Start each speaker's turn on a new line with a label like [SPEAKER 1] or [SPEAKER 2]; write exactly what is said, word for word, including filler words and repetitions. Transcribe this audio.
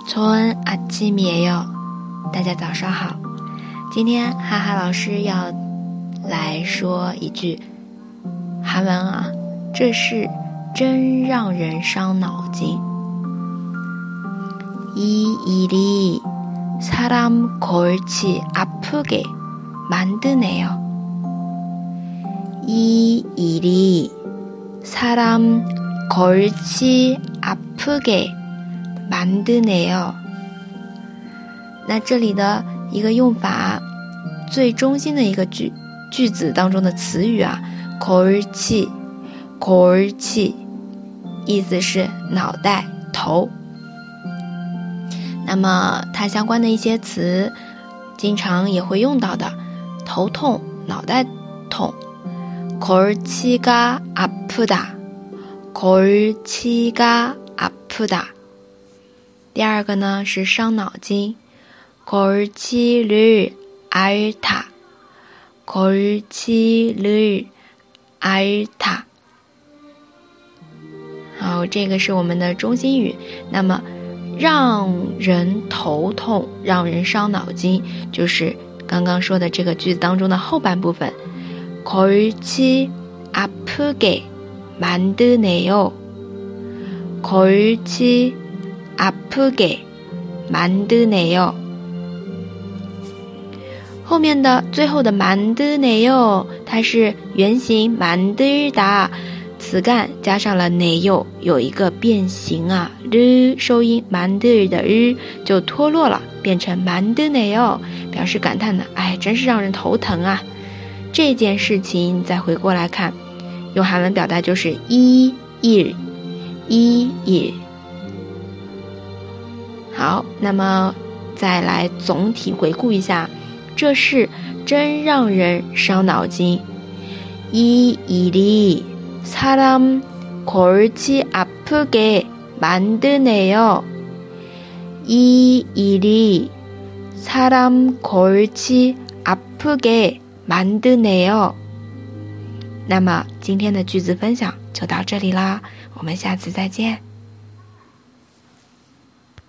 [SPEAKER 1] 좋은 아침이에요。大家早上好。今天哈哈老师要来说一句韩文啊，这事真让人伤脑筋。이 일이 사람 골치 아프게 만드네요. 이 일이 사람 골치 아프게 만드네요。那这里的一个用法，最中心的一个句句子当中的词语啊，골치 골치意思是脑袋头。那么它相关的一些词经常也会用到的，头痛脑袋痛，골치가 아프다 골치가 아프다。第二个呢是伤脑筋，골치를 앓다 골치를 앓다。好，这个是我们的中心语。那么让人头痛让人伤脑筋，就是刚刚说的这个句子当中的后半部分，골치 아프게 만드네요 골치 아프게 만드네요。后面的最后的만드네요，它是原形만들다，词干加上了네요，有一个变形啊，日收音만들的日就脱落了，变成만드네요，表示感叹的，哎，真是让人头疼啊。这件事情再回过来看，用韩文表达就是이 일 이 일。好，那么再来总体回顾一下，这事真让人伤脑筋。이 일이 사람 골치 아프게 만드네요. 이 일이 사람 골치 아프게 만드네요。那么今天的句子分享就到这里啦，我们下次再见。